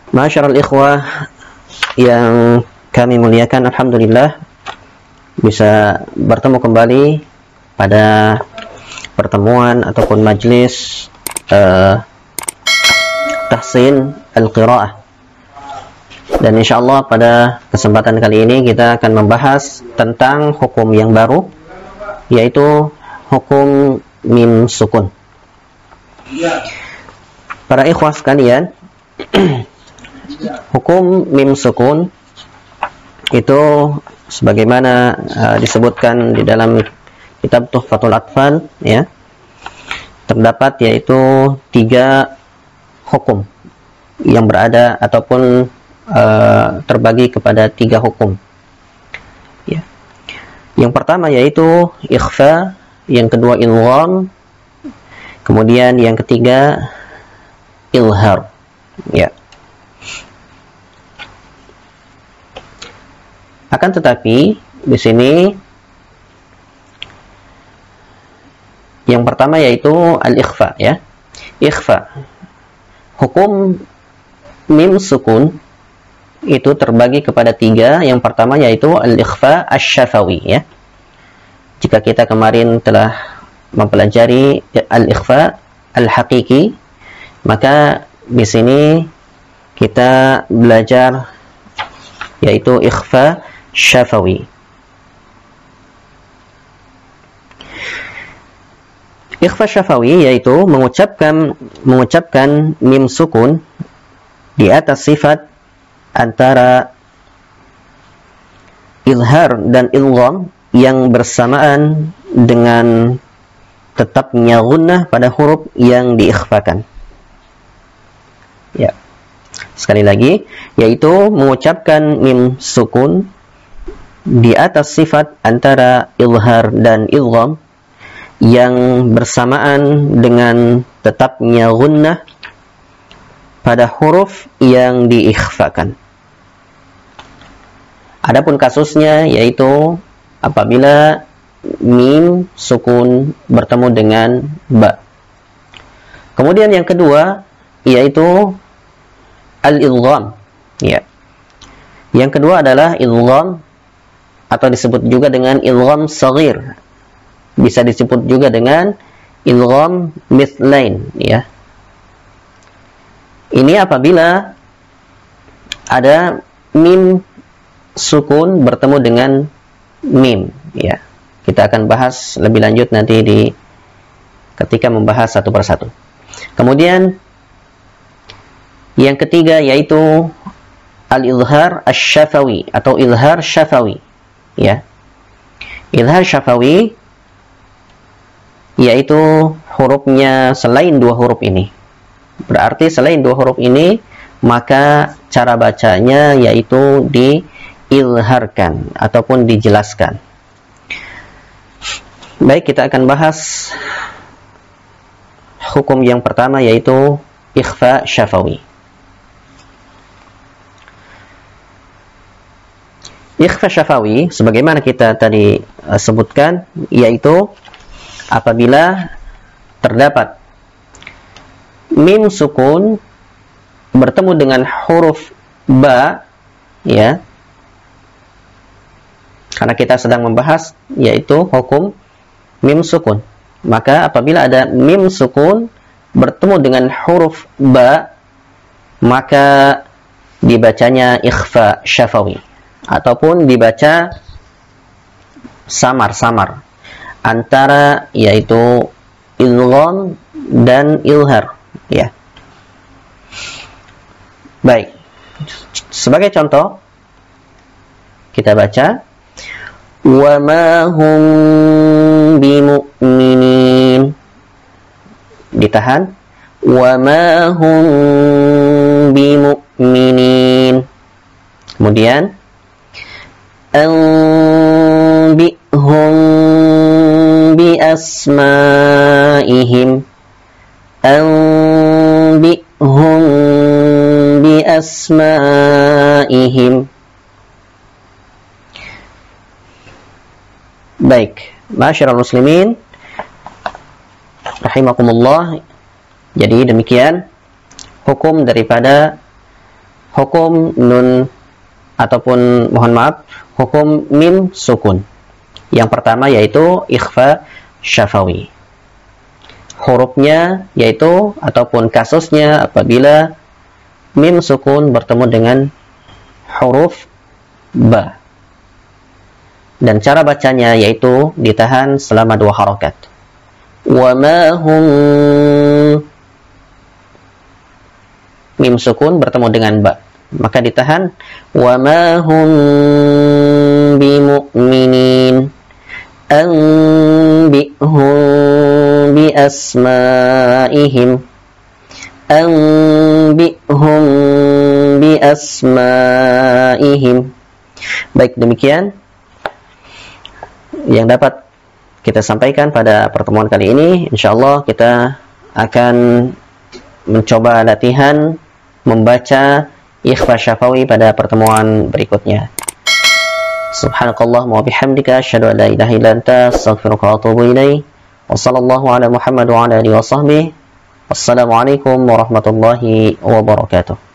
Ma'asyiral ikhwah yang kami muliakan, alhamdulillah bisa bertemu kembali pada pertemuan ataupun majlis tahsin al-qiraah. Dan insyaallah pada kesempatan kali ini kita akan membahas tentang hukum yang baru, yaitu hukum mim sukun. Para ikhwah sekalian, hukum mim sukun itu sebagaimana disebutkan di dalam kitab Tuhfatul Atfal, ya, terdapat yaitu 3 hukum yang berada ataupun terbagi kepada 3 hukum, ya. Yang pertama yaitu ikhfa, yang kedua ilgham, kemudian yang ketiga ilhar, ya. Akan tetapi di sini yang pertama yaitu al-ikhfa, ya. Ikhfa, hukum mim sukun itu terbagi kepada 3. Yang pertama yaitu al-ikhfa asy-syafawi, ya. Jika kita kemarin telah mempelajari al-ikhfa al-haqiqi, maka di sini kita belajar yaitu ikhfa syafawi. Ikhfa syafawi yaitu mengucapkan mim sukun di atas sifat antara izhar dan ilgham yang bersamaan dengan tetapnya gunnah pada huruf yang diikhfakan. Ya. Sekali lagi, yaitu mengucapkan mim sukun di atas sifat antara izhar dan idgham yang bersamaan dengan tetapnya gunnah pada huruf yang diikhfakan. Adapun kasusnya yaitu apabila mim sukun bertemu dengan ba. Kemudian yang kedua yaitu al-idgham, ya. Yang kedua adalah idgham atau disebut juga dengan idgham shaghir. Bisa disebut juga dengan idgham mithlain, ya. Ini apabila ada mim sukun bertemu dengan mim, ya. Kita akan bahas lebih lanjut nanti ketika membahas satu persatu. Kemudian yang ketiga yaitu al-izhar asy-syafawi atau izhar syafawi, ya. Izhar syafawi yaitu hurufnya selain 2 huruf ini. Berarti selain 2 huruf ini, maka cara bacanya yaitu diizharkan ataupun dijelaskan. Baik, kita akan bahas hukum yang pertama yaitu ikhfa syafawi. Ikhfa syafawi sebagaimana kita tadi sebutkan yaitu apabila terdapat mim sukun bertemu dengan huruf ba, ya. Karena kita sedang membahas yaitu hukum mim sukun. Maka apabila ada mim sukun bertemu dengan huruf ba, maka dibacanya ikhfa syafawi ataupun dibaca samar-samar antara yaitu idgham dan ilhar, ya. Baik. Sebagai contoh kita baca wa ma hum bimu'minin. Ditahan. Wa ma hum bimu'minin. Kemudian anbi'hum biasma'ihim. Anbi'hum biasma'ihim. Baik, ma'asyiral muslimin rahimakumullah. Jadi demikian hukum daripada hukum nun ataupun mohon maaf, hukum mim sukun. Yang pertama yaitu ikhfa syafawi. Hurufnya yaitu ataupun kasusnya apabila mim sukun bertemu dengan huruf ba. Dan cara bacanya yaitu ditahan selama 2 harakat. Wa ma hum, mim sukun bertemu dengan ba, maka ditahan. Wa ma hum bimu'minin anbi'hum bi asma'ihim anbi'hum bi asma'ihim. Baik, demikian yang dapat kita sampaikan pada pertemuan kali ini. Insyaallah kita akan mencoba latihan membaca ikhfa syafawi pada pertemuan berikutnya. Subhanakallah wa bihamdika asyhadu an la ilaha illa anta astaghfiruka wa atubu ilaik. Wa sallallahu ala Muhammad wa ala alihi wa sahbihi. Wassalamualaikum warahmatullahi wabarakatuh.